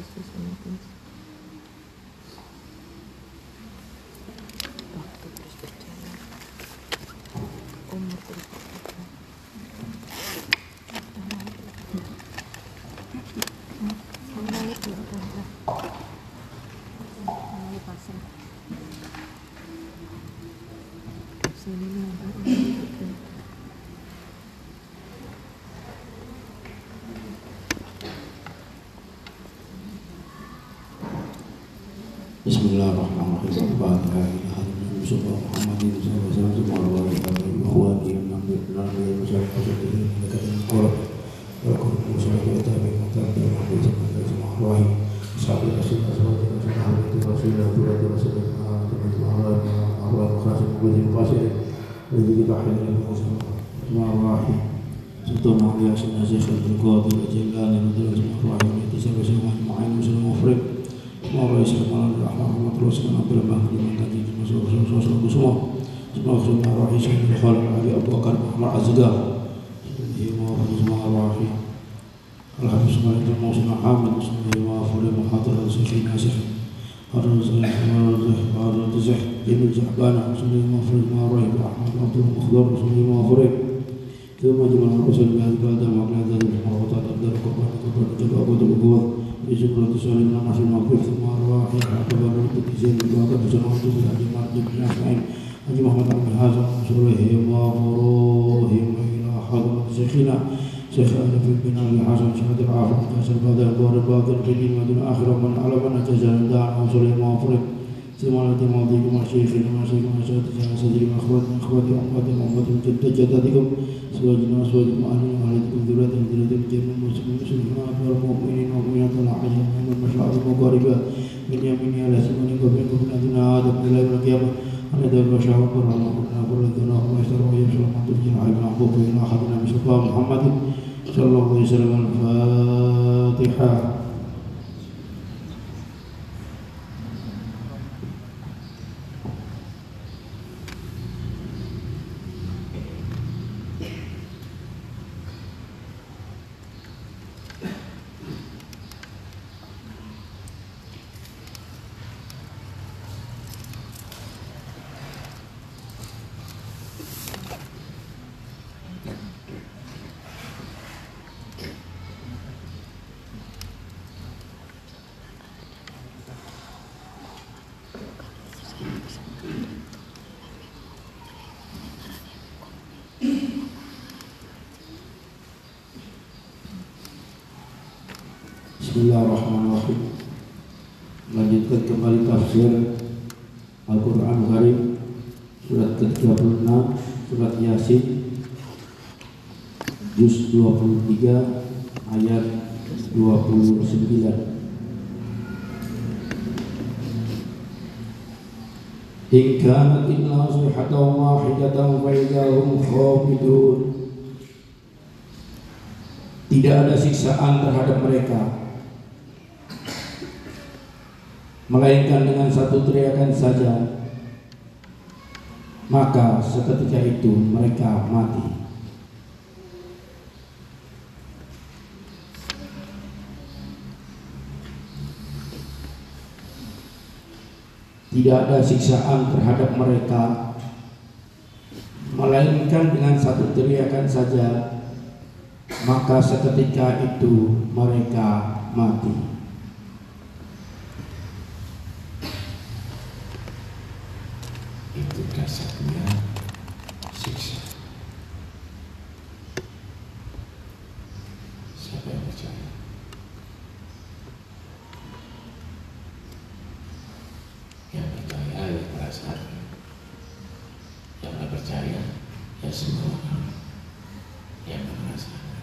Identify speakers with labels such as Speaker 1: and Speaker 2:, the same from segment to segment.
Speaker 1: Bismillahirrahmanirrahim. Bismillahirrahmanirrahim. Lanjutkan kembali tafsir Al-Quran Karim surat ke-36 surat Yasin juz 23 ayat 29. In kanat illa sayhatan wahidatan fa idahum khamidun. Tidak ada siksaan terhadap mereka melainkan dengan satu teriakan saja, maka seketika itu mereka mati. Tidak ada siksaan terhadap mereka melainkan dengan satu teriakan saja, maka seketika itu mereka mati. Itu dasarnya siksa. Siapa yang percaya? Yang percaya ya perasaan. Yang tidak percaya ya semua orang yang merasakan.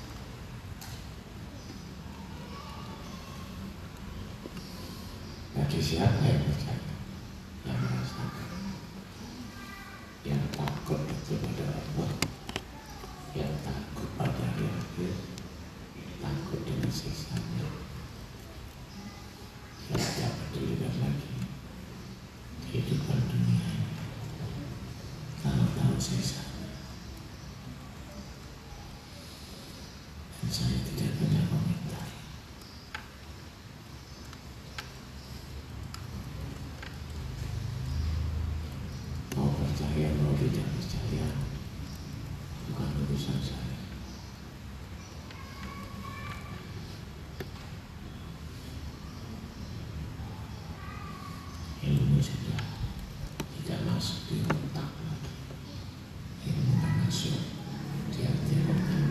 Speaker 1: Bagi siapa yang percaya? Yang merasakan. Yang takut itu pada Allah, yang takut pada hari akhir, takut dengan siksanya, yang tidak pedulikan lagi kehidupan dunia ini, tahu siksanya. Dan saya tidak punya komentar. tidak percaya bukan urusan saya. Ilmu sudah tidak masuk di otak lagi. Ilmu masuk di hati otak.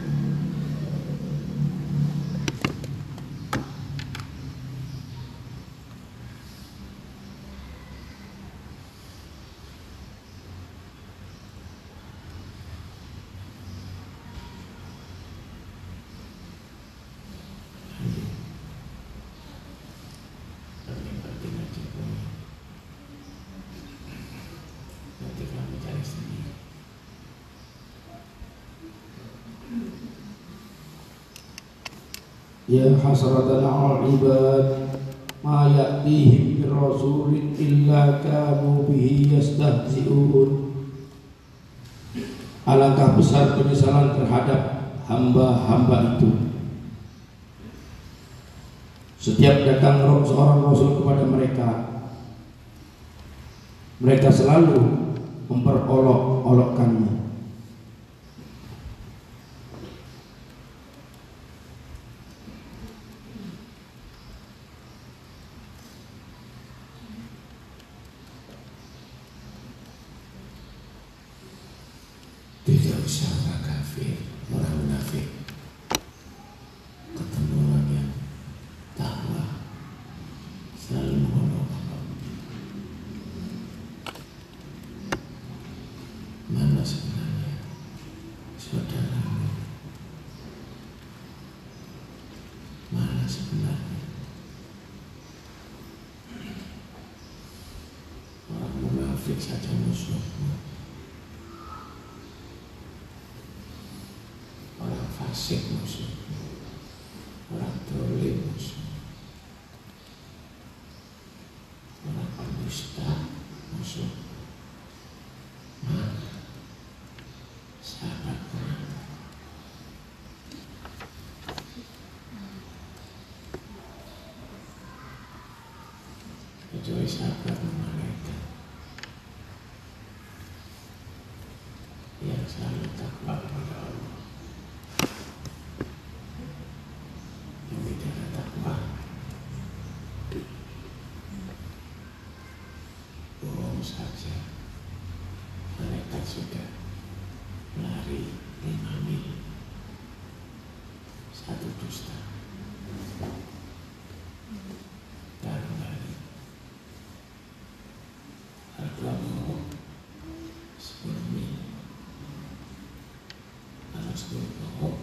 Speaker 2: Ya hasratan 'alal ibad ma ya'tihim min rasulin illa kanu bihi yastahzi'un. Alangkah besar penyesalan terhadap hamba-hamba itu. Setiap datang seorang rasul kepada mereka, mereka selalu memperolok-olokkannya.
Speaker 1: Tidak usah orang kafir, orang munafik. Ketemu orang yang takwa, selalu mengolok-olok. Mana sebenarnya saudaramu? Mana sebenarnya orang munafik saja musuhmu? Fasik musuh, orang dolim musuh, orang pendusta musuh. Mana sahabatnya? Kecuali sahabat malaikat yang selalu takwa kepada Allah. Bohong saja, malaikat sudah lari 5 mil, satu dusta dan kembali. Kalau bohong 10 mil, kalau 10 bohong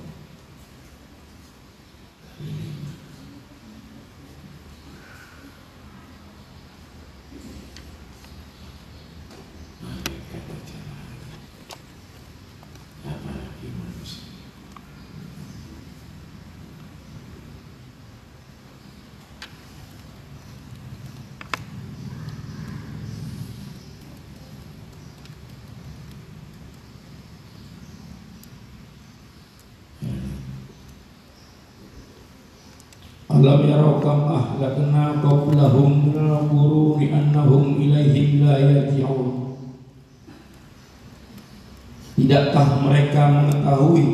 Speaker 1: kali 5. Apalagi manusia.
Speaker 2: Alam yarau kam ahlakna qablahum minal quruni annahum ilaihim la yarji'un. Tidakkah mereka mengetahui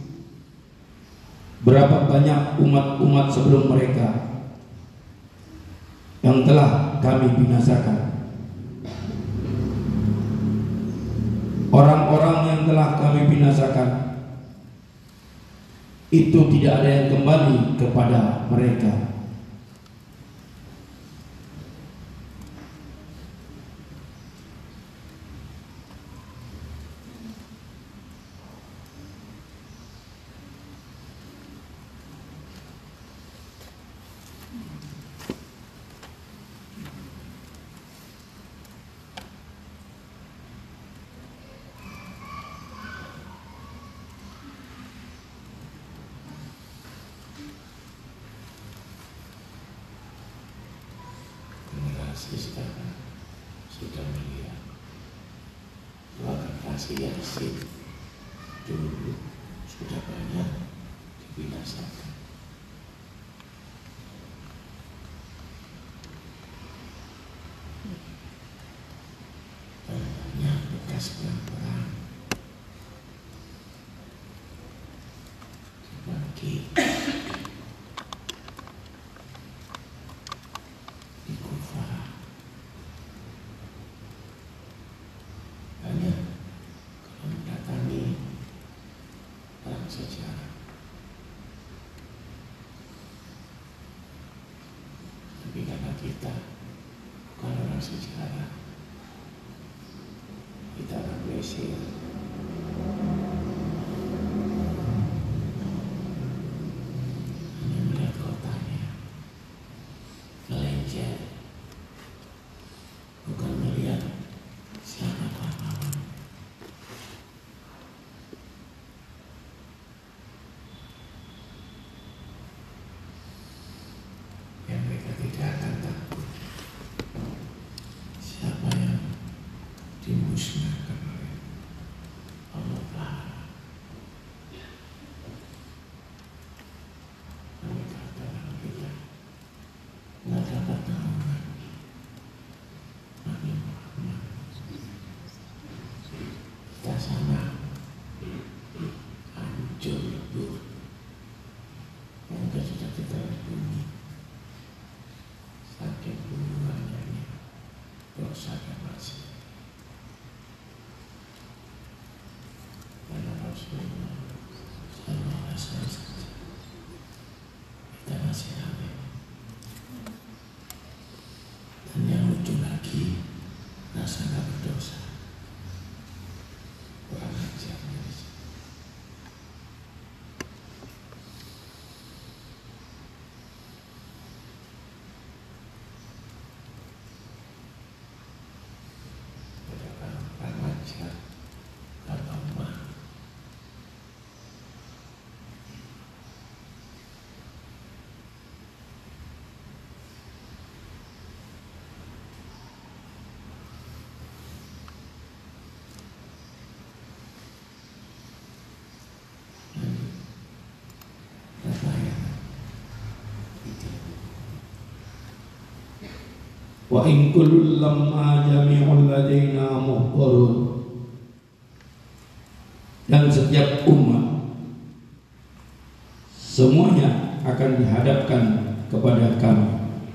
Speaker 2: berapa banyak umat-umat sebelum mereka yang telah kami binasakan? Orang-orang yang telah kami binasakan itu tidak ada yang kembali kepada mereka.
Speaker 1: Sekarang sudah melihat bahwa generasi Yasin dulu sudah banyak dibinasakan. Banyak bekas perang kita kalau orang sejarah kita orang Malaysia hanya melihat kotanya melenceng, bukan melihat siapa pahlawan. Yang mereka tidak akan takut siapa yang dimusnahkan oleh Allah Ta'ala. Mereka adalah kita nggak dapat naungan Nabi Muhammad. Kita sana hancur lebur, mungkin sudah kita bumi saking banyaknya dosa dan maksiat. Karena Rasulullah Sallallahu Alaihi Wasallam saja kita masih ramai. Dan yang lucu lagi, rasa nggak berdosa, kurang ajarnya di sini. Kurang ajar, nggak lemah.
Speaker 2: Wa in kullun lamma jami'un ladaina muhdarun. Dan setiap umat semuanya akan dihadapkan kepada kami.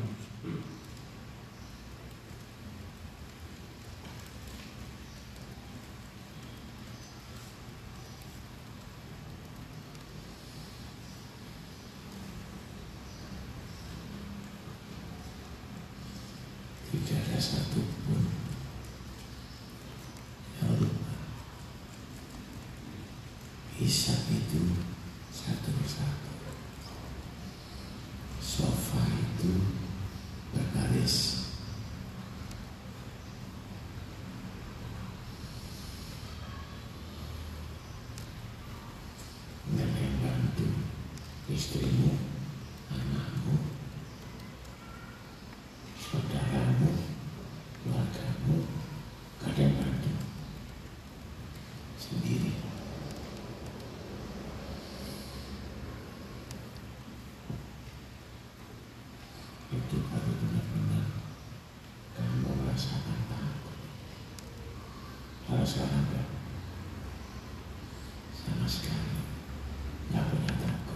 Speaker 1: Tidak ada satupun yang lupa. Hisab itu satu persatu. Sofa itu berbaris. Dan yang bantu istrimu, anakmu, saudaramu, keluargamu, kadang bantu sendiri. Itu baru benar-benar kamu merasakan takut. Kalau sekarang enggak, sama sekali nggak punya takut.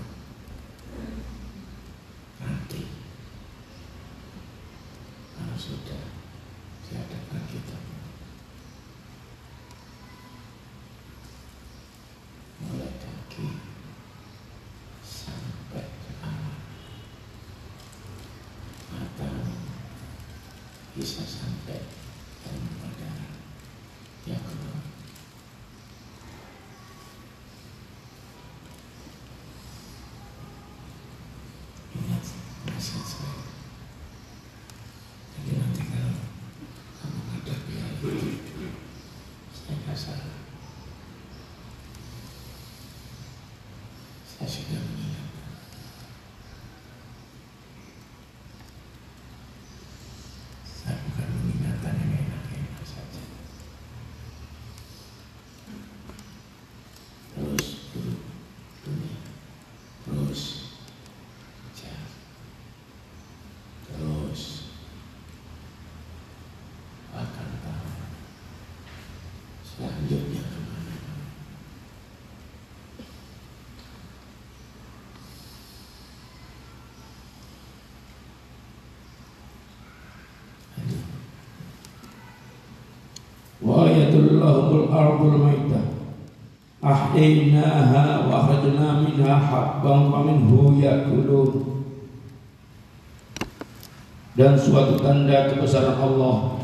Speaker 1: Nanti kalau sudah dihadapkan kita mulai kaki sampai ke alat, mata bisa sampai pada yang kedua. Ingat nasihat saya. Jadi nanti kalau kamu menghadapi hal itu, saya nggak salah. Saya sudah mengingatkan. Saya bukan mengingatkan yang enak-enak saja. Terus duduk dunia, terus kejar, terus akan tahu selanjutnya kemana.
Speaker 2: Wa ayatul lahumul ardul maitah ahyainaha wa akhrajna minha habban faminhu yakulun. dan suatu tanda kebesaran Allah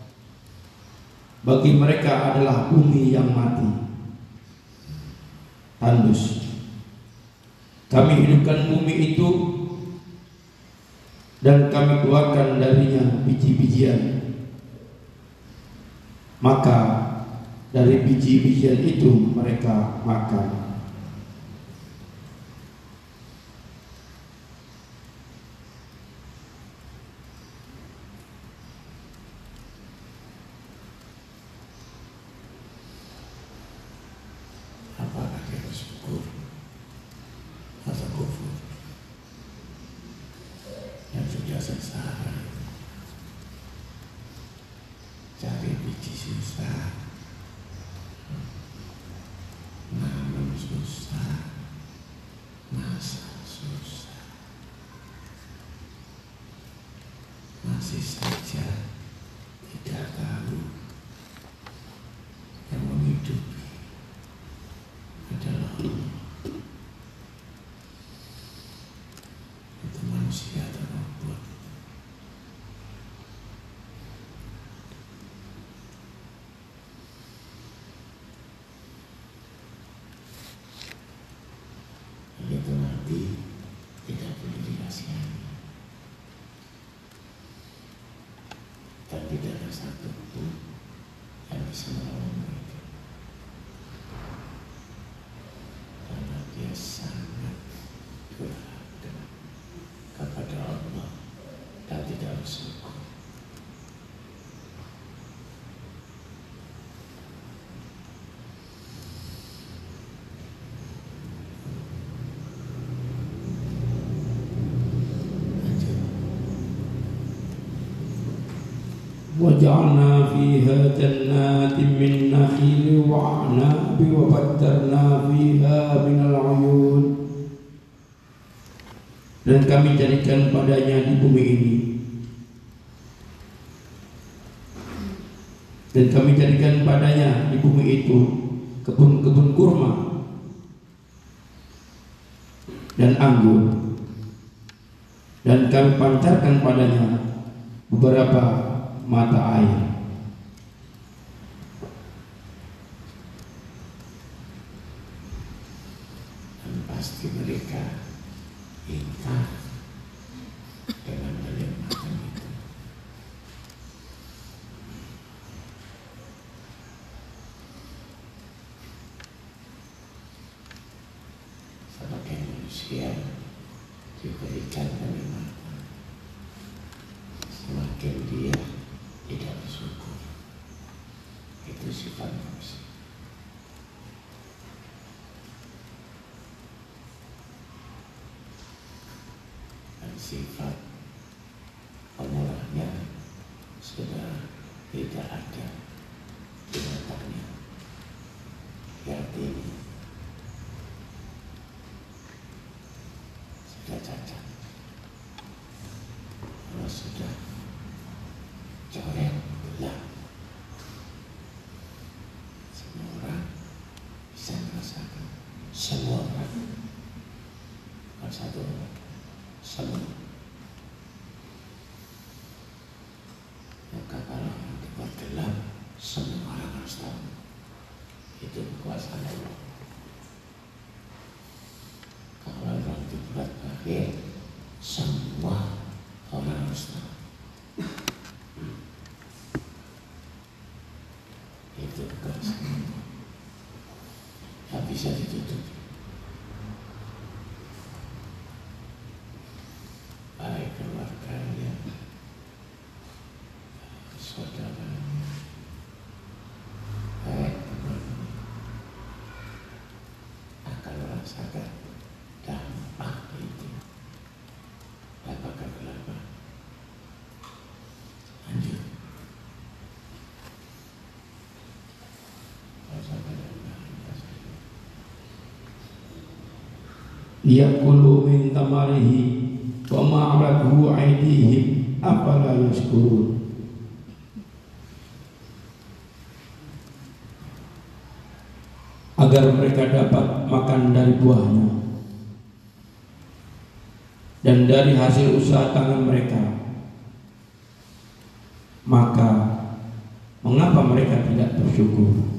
Speaker 2: bagi mereka adalah bumi yang mati, tandus. Kami hidupkan bumi itu dan kami keluarkan darinya biji-bijian. Maka dari biji-bijian itu mereka makan.
Speaker 1: Apakah kita syukur atau kufur? Yang sudah sengsara cari biji susah, nanam susah, masak susah, masih saja tidak tahu yang menghidupi adalah Allah. Itu manusia atau robot? Itu nanti tidak boleh dirahasiakan, dan tidak ada satu pun yang bisa melawan mereka, karena dia sangat durhaka kepada Allah dan tidak bersyukur.
Speaker 2: وجعلنا فيها جنات من نخيل وأعناب وفجرنا فيها من العيون. Dan kami jadikan padanya di bumi ini, dan kami jadikan padanya di bumi itu kebun-kebun kurma dan anggur, dan kami pancarkan padanya beberapa mata air.
Speaker 1: Dan pasti mereka ingkar dengan kenikmatan itu. Sebagai manusia diberikan kenikmatan, semakin dia tidak bersyukur. Itu sifat manusia. Dan sifat pemurahnya sudah tidak ada di matanya. Artinya sudah cacat. Kalau sudah coret gelap, semua orang bisa merasakan. Semua orang, bukan satu orang, semua. Maka kalau dibuat gelap, semua orang harus tahu itu kekuasaan Allah. Kalau orang dibuat bahir, semua orang harus tahu itu kekuasaan Allah. Tak bisa ditutup. Baik keluarganya, saudaranya, baik temannya akan merasakan dampak itu. Dampak kegelapan. Lanjut.
Speaker 2: Liyakulu min tamarihi wa ma'alathu aydihim afala yashkurun. Agar mereka dapat makan dari buahnya dan dari hasil usaha tangan mereka, maka mengapa mereka tidak bersyukur?